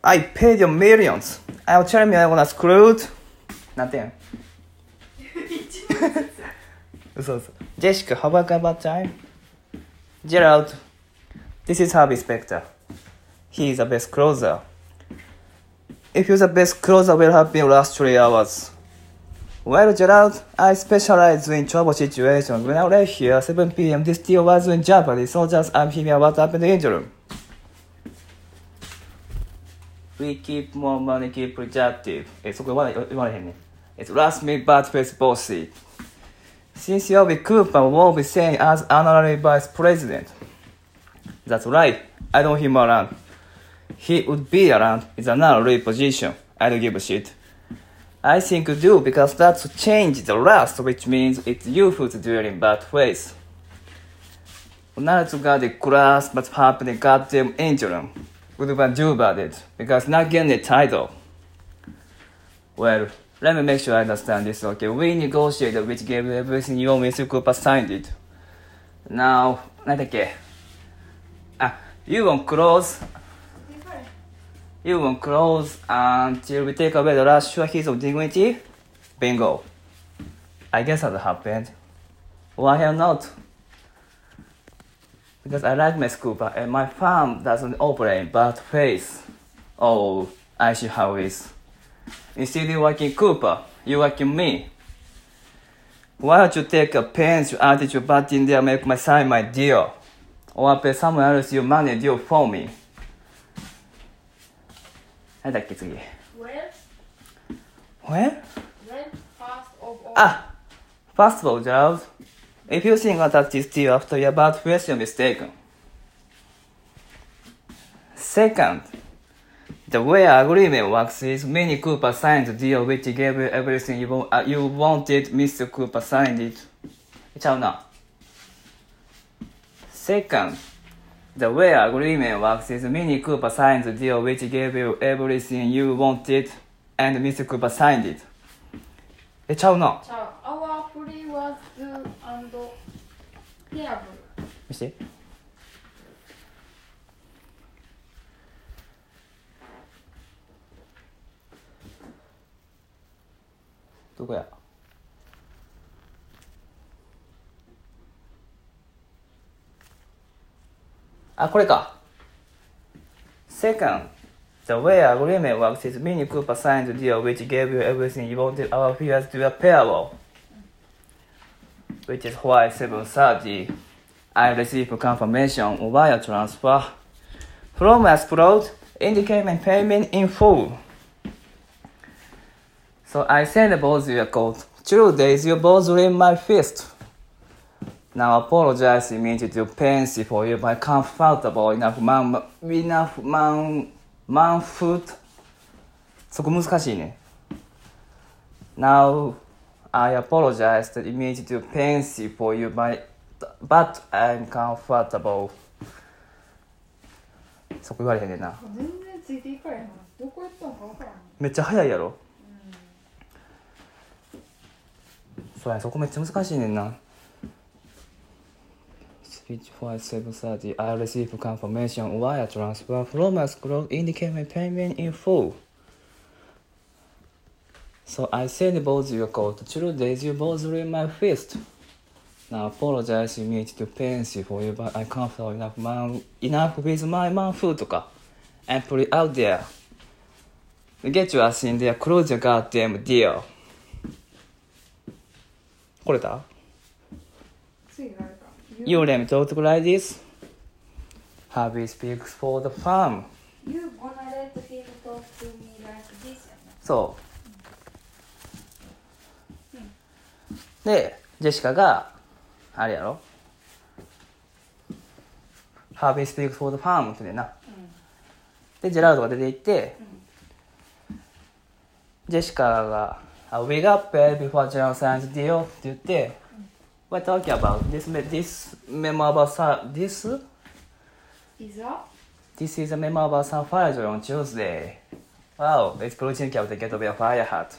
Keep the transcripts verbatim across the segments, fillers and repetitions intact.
I paid you millions. I'll tell me I wanna screwed. なんて言うん嘘嘘。Jessica, how about about time? Gerald, this is Harvey Specter. He is the best closer. If you're the best closer, will have been last three hours. Well, Gerald, I specialize in trouble situations. When I left here at seven p.m., this deal was in jeopardy, so just I'm here what happened in the room. We keep more money, keep productive. え、そこ言われ言われへんね。It's last minute bad face bossy. Since you'll be Cooper won't be saying as honorary vice president. That's right. I don't him around. He would be around. It's an honorary position. I don't give a shit. I think you do because that's changed the last, which means it's you who's doing bad ways. Now to got the class, but happening goddamn engine. What do I do about it? Because not getting the title. Well, let me make sure I understand this, okay? We negotiated which gave you everything you owe Mister Cooper signed it. Now, 何だっけ? Ah, you won't close. You won't close until we take away the last sure his of dignity? Bingo. I guess that happened. Why hell not? Because I like Miss Cooper and my farm doesn't operate bad faith. Oh, I see how it is. Instead of working Cooper, you working me. Why don't you take a pen to add your butt in there and make my sign my deal? Or pay someone else your money deal for me. 何だっけ次 When? When? When? First of all. Ah! First of all, Gerald, if you think that this deal after your bad face, you're mistaken. Second, the way our agreement works is Minnie Cooper signed the deal which gave you everything you, want, uh, you wanted, Mister Cooper signed it. ちゃうな。Second, the way our agreement works is Minnie Cooper signed the deal which gave you everything you wanted, and Mister Cooper signed it. え、ちゃうな。 ちゃう。Our plea was due and payable. 見して。どこや。あ、これか。Second, the way agreement works is Minnie Cooper signed the deal which gave you everything you wanted our fears to be payable. Which is why seven thirty I received confirmation of wire transfer from Explode indicating payment in full. So I sent both your code. Two days you both in my fist. Now apologize immediately to Pansy for you, but comfortable enough man, enough man, man foot. そこ難しいね。Now I apologize immediately to Pansy for you, but, but I'm comfortable. そこ言われへんねんな。 全然ついていかれへん。どこ行ったのか分からん。 めっちゃ早いやろ。そうや、そこめっちゃ難しいねんな。Switch for seven thirty, I received confirmation wire transfer from a scroll indicating payment in full. So I sent both your code. Two days you both in my fist. Now apologize immediately to Pansy for you, but I can't feel enough man enough with my man food とか and put it out there. Get your ass in there, close your goddamn deal. これだ次があるか。 You let me talk like this. Harvey speaks for the farm. You gonna let him talk to me like this? そう、うん、でジェシカがあれやろ Harvey speaks for the farm って言うねんな、うん、でジェラルドが出て行って、うん、ジェシカが We got paid before Gerald signs the deal って言って、うん、We're talking about this, this memo about this? Is that? This is a memo about some fire on Tuesday. Wow, it's Putin kept to get to be a fire hat.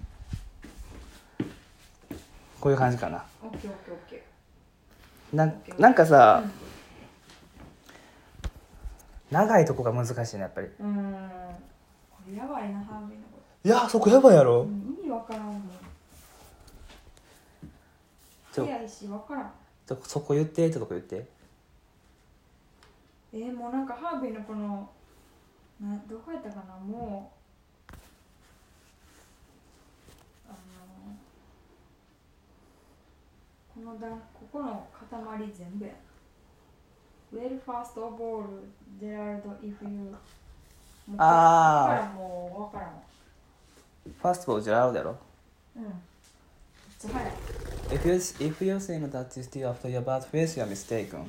こういう感じかな。 オッケーオッケーオッケー。な, なんかさ、うん、長いとこが難しいねやっぱり。 うーんやばいなハービーのこいやそこやばいやと、 ろ。 うん意味わからんもん。 ちょ早いしわからん。 ちょそこ言ってってとこ言って。 えー、もうなんかハービーのこのなどこやったかな、もうあのこの段ここの塊全部や。Well first of all, Gerald, if you あーここからもうわからんわ。 ファーストボールじゃあるだろ。 うん。めっちゃ早い。 If you, if you think that is still after your bad face, you are mistaken.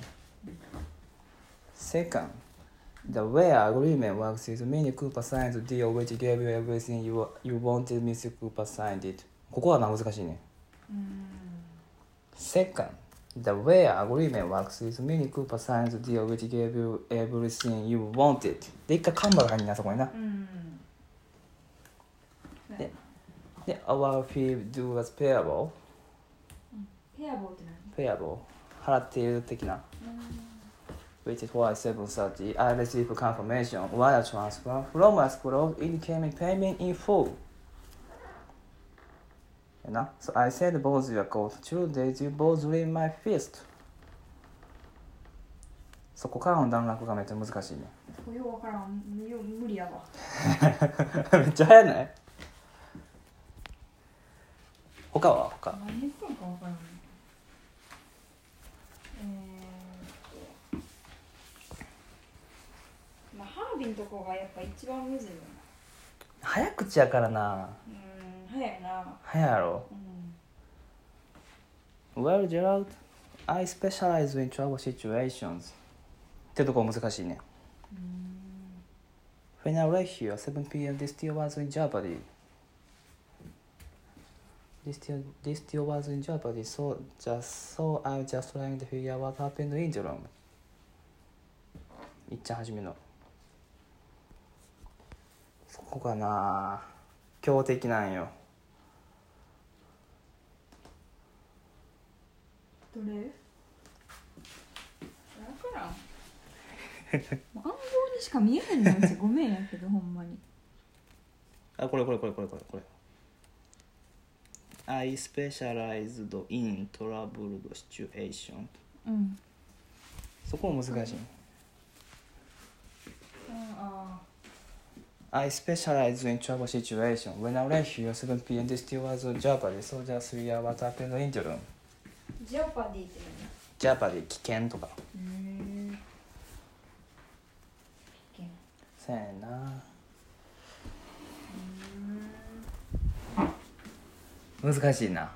Second, the way agreement works is Mini Cooper signed the deal which gave you everything you, you wanted. Mister Cooper signed it. ここはな難しいね。 うーん。 Second, the way agreement works is Mini Cooper signed the deal which gave you everything you wanted. で、一回カンバが入んな、そこにな。 うん。 で、で、our fee due was payable. ペアボーって何？ payable. 払っている的な。which is why seven thirty I received confirmation wire transfer from escrow indicating payment in full. やな。So I said both your code two days you both read my fist. そこからの段落がめっちゃ難しいね。 これようわからん。よう無理やわ。 めっちゃ早ない？他は他。 何言ってんかわからん。えーっとまあハービンとこがやっぱ一番むずいよな。 早口やからな。 うーん、早いな。 早いやろ。 うん。 Well, Gerald, I specialize in trouble situations. ってとこ難しいね。 うーん。 When I left here at seven p m this still was in jeopardy. This still, this still was in jeopardy, so just so I was just trying to figure out what happened in the room. いっちゃんはじめの。そこかな。強敵なんよ。 どれ？わからん。もう暗号にしか見えへんのよ。ごめんやけどほんまに。 あ、これこれこれこれこれこれ。I specialized in troubled situations. うん。 そこも難しい。 あ I specialized in trouble situations. When I left here at seven p m this still was in jeopardy, so just figure out what happened in the room. あ。ジェオパディってジャパディ危険とか。 何？へえ。危険。 そうやな。難しいな。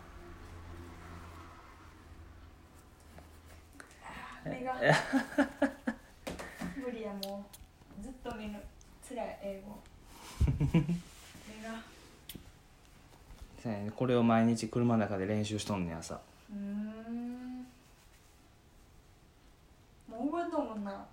目が無理やもうずっと見るつらい英語目がそうやね。これを毎日車の中で練習しとんねん朝。 うーんもう覚えとんもんな。 あ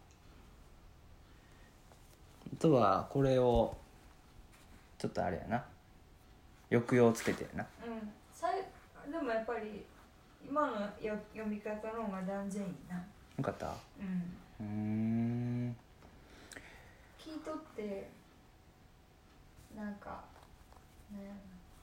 とはこれをちょっとあれやな。抑揚つけてやな。 うんさいでもやっぱり今のよ読み方の方が断然いいな。 よかった。 うんうーん。 聞いとってなんかなんやろ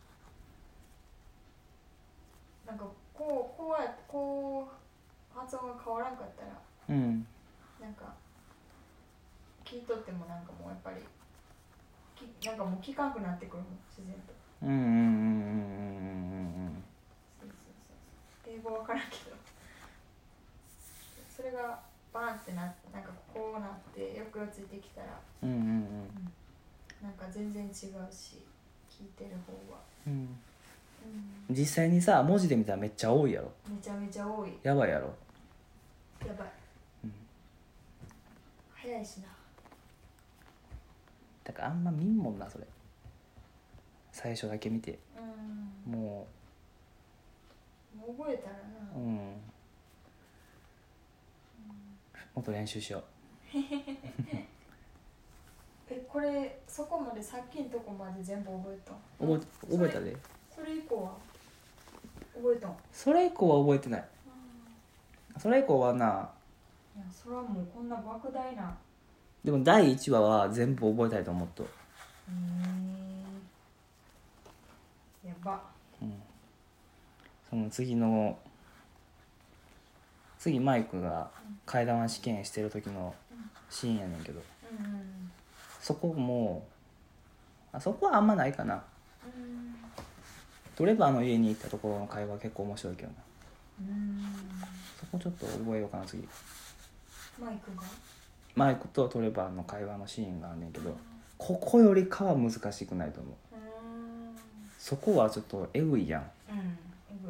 な、なんかこうこうやこう発音が変わらんかったらうん。 なんか聞いとってもなんかもうやっぱりきなんかもう聞かんくなってくるもん自然と。 うんうんうんうんうんうんそうそうそう英語わからんけどそれがバーンってなってなんかこうなって抑揚ついてきたらうんうんうんなんか全然違うし聞いてる方は、 うん。 うん、 実際にさ文字で見たらめっちゃ多いやろ。 めちゃめちゃ多い。 やばいやろ。 やばい、 うん。 早いしな。 だからあんま見んもんなそれ。最初だけ見て。 うんももう覚えたらう、うな、 ん。もっと練習しよえこれそこまでさっきのとこまで全部覚えたう。覚え覚えたで。 それ以降は覚えたん？ それ以降は覚えてない。それ以降はな。 いやそれはもうこんな莫大な。 でもだいいちわは全部覚えたいと思っと。 ーやば。 うんその次の次マイクが替え玉試験してる時のシーンやねんけど、 うんうんそこもあそこはあんまないかな。 うんトレバーの家に行ったところの会話結構面白いけどな。 うんそこちょっと覚えようかな次。 マイクがマイクとトレバーの会話のシーンがあんねんけど、ここよりかは難しくないと思う。 うんそこはちょっとエグいやんうんえぐい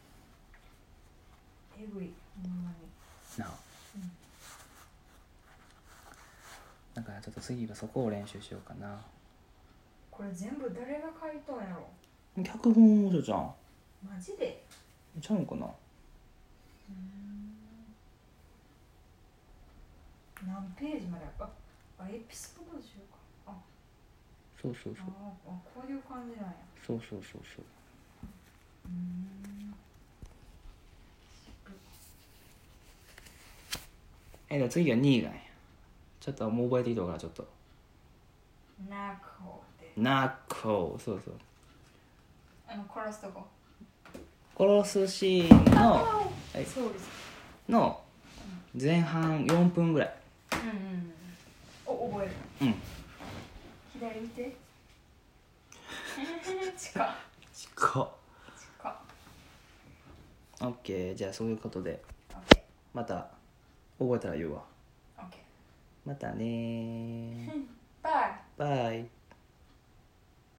えぐいほんまに。 なあ、 うんだからちょっと次はそこを練習しようかな。 これ全部誰が書いたんやろ。 脚本もじゃんマジで。 ちゃうんかな。 うん何ページまでああエピソード集か。あそうそうそうああこういう感じなんや。 そうそうそうそう。 うんえで次はにがや。ちょっともう覚えてきたからちょっとナコでナッコーそうそうあの殺すとこ。 殺すシーンのはいそうです。 の前半よんぷんぐらい。 うんうんお覚える。 うん左見て近っ近っ。 近っ。 オッケーじゃあそういうことでオッケまた覚えたら言うわ。 ーオッケまたねーーバイ。 バイ。